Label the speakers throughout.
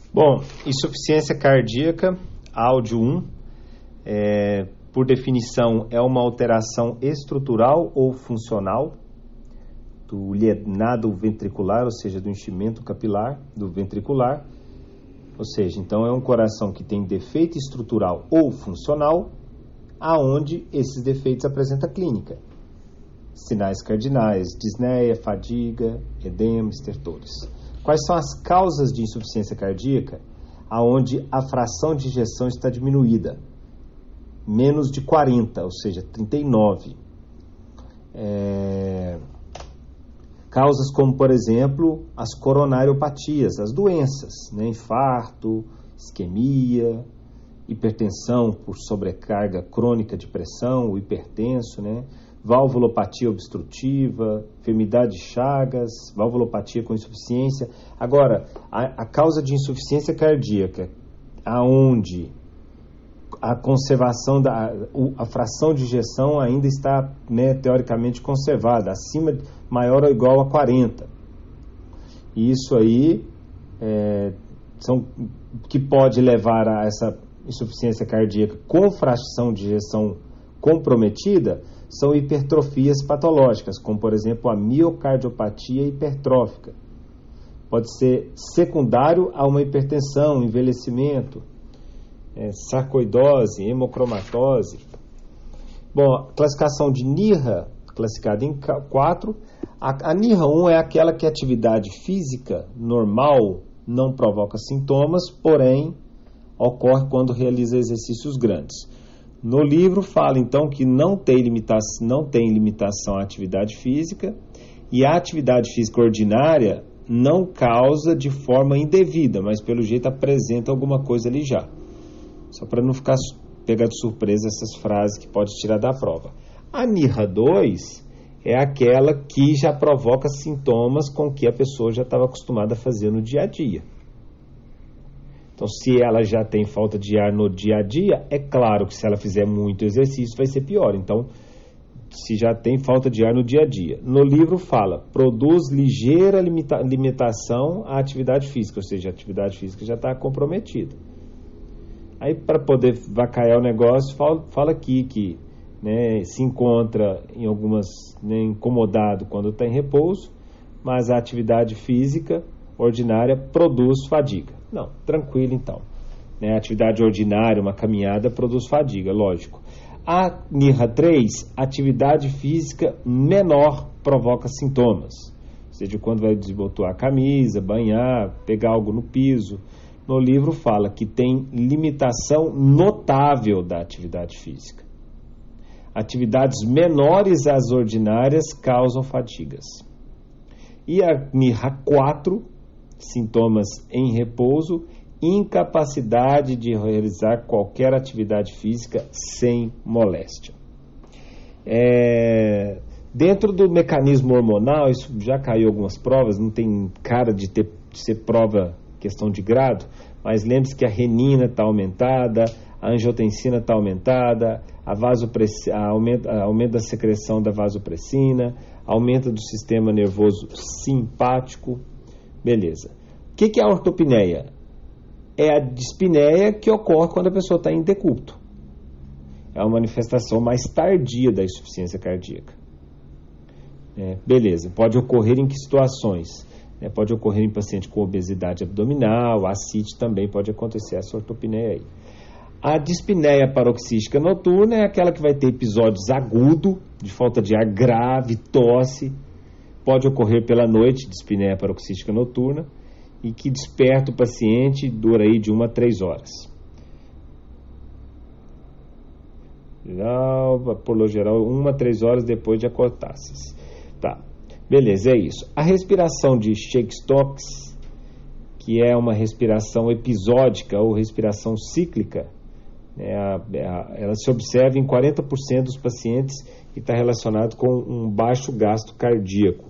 Speaker 1: Bom, insuficiência cardíaca, áudio 1, por definição, é uma alteração estrutural ou funcional do llenado ventricular, ou seja, do enchimento capilar do ventricular. Ou seja, então é um coração que tem defeito estrutural ou funcional, aonde esses defeitos apresentam clínica. Sinais cardinais, disneia, fadiga, edema, estertores. Quais são as causas de insuficiência cardíaca? Aonde a fração de ejeção está diminuída, menos de 40, ou seja, 39. Causas como, por exemplo, as coronariopatias, as doenças, né? Infarto, isquemia, hipertensão por sobrecarga crônica de pressão, o hipertenso, né? Valvulopatia obstrutiva, enfermidade de Chagas, valvulopatia com insuficiência. Agora, a causa de insuficiência cardíaca, aonde a conservação a fração de ejeção ainda está, né, teoricamente conservada, maior ou igual a 40. E isso aí que pode levar a essa insuficiência cardíaca com fração de ejeção comprometida são hipertrofias patológicas, como por exemplo a miocardiopatia hipertrófica. Pode ser secundário a uma hipertensão, envelhecimento, sarcoidose, hemocromatose. Bom, a classificação de NYHA, classificada em 4. A NYHA 1 é aquela que a atividade física normal não provoca sintomas, porém ocorre quando realiza exercícios grandes. No livro fala então que não tem limitação à atividade física, e a atividade física ordinária não causa de forma indevida, mas pelo jeito apresenta alguma coisa ali já. Só para não ficar pegar de surpresa essas frases que pode tirar da prova. A NYHA 2 é aquela que já provoca sintomas com que a pessoa já estava acostumada a fazer no dia a dia. Então, se ela já tem falta de ar no dia a dia, é claro que se ela fizer muito exercício vai ser pior. Então, se já tem falta de ar no dia a dia. No livro fala, produz ligeira limitação à atividade física, ou seja, a atividade física já está comprometida. Aí, para poder vacaiar o negócio, fala aqui que, né, se encontra em algumas, né, incomodado quando está em repouso, mas a atividade física ordinária produz fadiga. Não, tranquilo então. Né, a atividade ordinária, uma caminhada, produz fadiga, lógico. A NYHA 3, atividade física menor provoca sintomas. Ou seja, quando vai desabotoar a camisa, banhar, pegar algo no piso. No livro fala que tem limitação notável da atividade física. Atividades menores às ordinárias causam fadigas. E a NYHA 4, sintomas em repouso, incapacidade de realizar qualquer atividade física sem moléstia. Dentro do mecanismo hormonal, isso já caiu algumas provas, não tem cara de ser prova questão de grado, mas lembre-se que a renina está aumentada, a angiotensina está aumentada, aumento da secreção da vasopressina, aumento do sistema nervoso simpático. Beleza. O que é a ortopneia? É a dispneia que ocorre quando a pessoa está em decúbito. É uma manifestação mais tardia da insuficiência cardíaca. Beleza. Pode ocorrer em que situações? Pode ocorrer em paciente com obesidade abdominal, ascite também pode acontecer essa ortopneia aí. A dispneia paroxística noturna é aquela que vai ter episódios agudos, de falta de ar grave, tosse. Pode ocorrer pela noite, dispneia paroxística noturna, e que desperta o paciente, dura aí de 1 a 3 horas. Por geral, 1 a 3 horas depois de acordar-se. Tá, beleza, é isso. A respiração de Cheyne-Stokes, que é uma respiração episódica ou respiração cíclica, ela se observa em 40% dos pacientes e está relacionado com um baixo gasto cardíaco.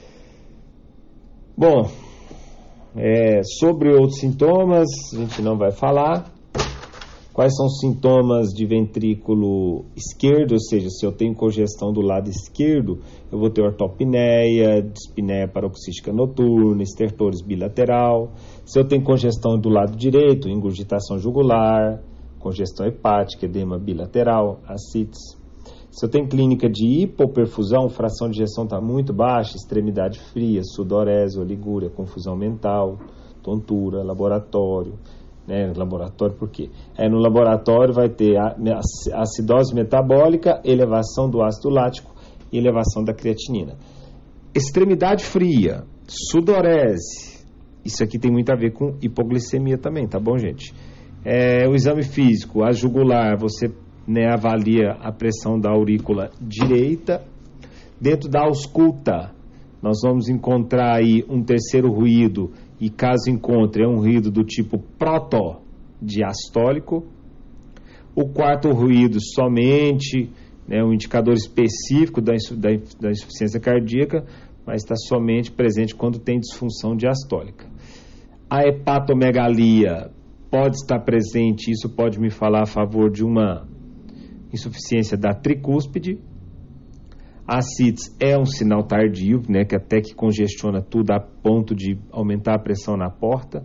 Speaker 1: Bom, sobre outros sintomas, a gente não vai falar. Quais são os sintomas de ventrículo esquerdo? Ou seja, se eu tenho congestão do lado esquerdo, eu vou ter ortopneia, dispneia paroxística noturna, estertores bilateral. Se eu tenho congestão do lado direito, ingurgitação jugular, congestão hepática, edema bilateral, ascites. Se eu tenho clínica de hipoperfusão, fração de ejeção está muito baixa, extremidade fria, sudorese, oligúria, confusão mental, tontura, laboratório. Laboratório por quê? No laboratório vai ter acidose metabólica, elevação do ácido lático e elevação da creatinina. Extremidade fria, sudorese, isso aqui tem muito a ver com hipoglicemia também, tá bom, gente? O exame físico, a jugular, você avalia a pressão da aurícula direita. Dentro da ausculta, nós vamos encontrar aí um terceiro ruído, e caso encontre, é um ruído do tipo protodiastólico. O quarto ruído somente, um indicador específico da insuficiência cardíaca, mas está somente presente quando tem disfunção diastólica. A hepatomegalia pode estar presente, isso pode me falar a favor de uma insuficiência da tricúspide. A ascites é um sinal tardio, que até que congestiona tudo a ponto de aumentar a pressão na porta.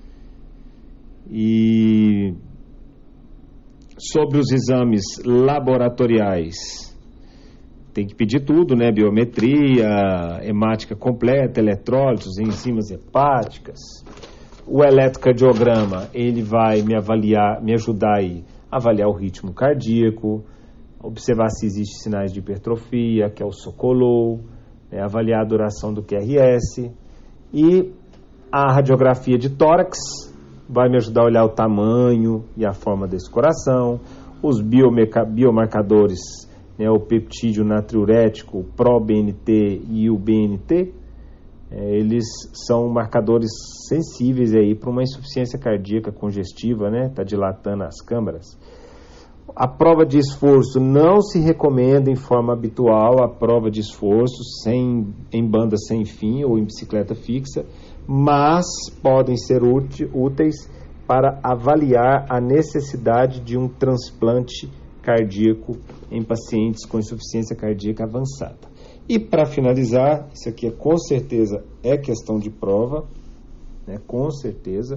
Speaker 1: E sobre os exames laboratoriais, tem que pedir tudo, biometria, hemática completa, eletrólitos, enzimas hepáticas. O eletrocardiograma, ele vai me ajudar a avaliar o ritmo cardíaco, observar se existem sinais de hipertrofia, que é o Sokolov, avaliar a duração do QRS. E a radiografia de tórax vai me ajudar a olhar o tamanho e a forma desse coração. Os biomarcadores, o peptídeo natriurético, o ProBNT e o BNT, eles são marcadores sensíveis para uma insuficiência cardíaca congestiva, está dilatando as câmaras. A prova de esforço não se recomenda em forma habitual, a prova de esforço em banda sem fim ou em bicicleta fixa, mas podem ser úteis para avaliar a necessidade de um transplante cardíaco em pacientes com insuficiência cardíaca avançada. E para finalizar, isso aqui com certeza é questão de prova, com certeza,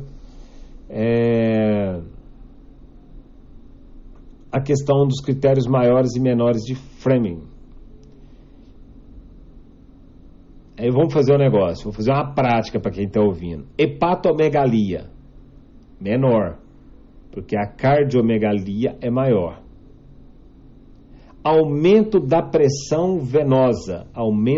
Speaker 1: a questão dos critérios maiores e menores de Fleming. Aí vamos fazer um negócio, vou fazer uma prática para quem está ouvindo. Hepatomegalia, menor, porque a cardiomegalia é maior. Aumento da pressão venosa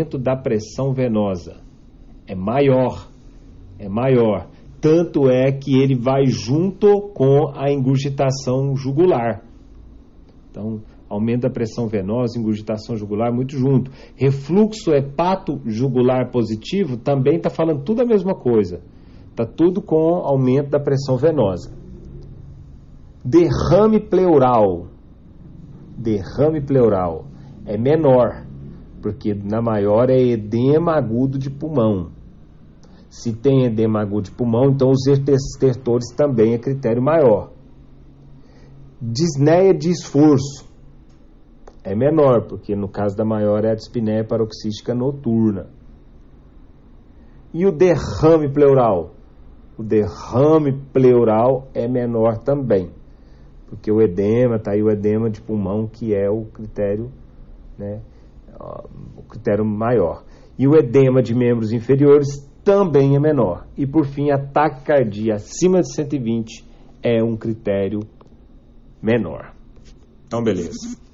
Speaker 1: é maior. Tanto é que ele vai junto com a ingurgitação jugular. Então, aumento da pressão venosa, ingurgitação jugular, muito junto. Refluxo hepato-jugular positivo também está falando tudo a mesma coisa. Está tudo com aumento da pressão venosa. Derrame pleural é menor, porque na maior é edema agudo de pulmão. Se tem edema agudo de pulmão, então os estertores também é critério maior. Disneia de esforço é menor, porque no caso da maior é a dispneia paroxística noturna. E o derrame pleural? O derrame pleural é menor também, porque o edema, está aí o edema de pulmão, que é o critério, o critério maior. E o edema de membros inferiores também é menor. E por fim, a taquicardia acima de 120 é um critério menor. Então, beleza.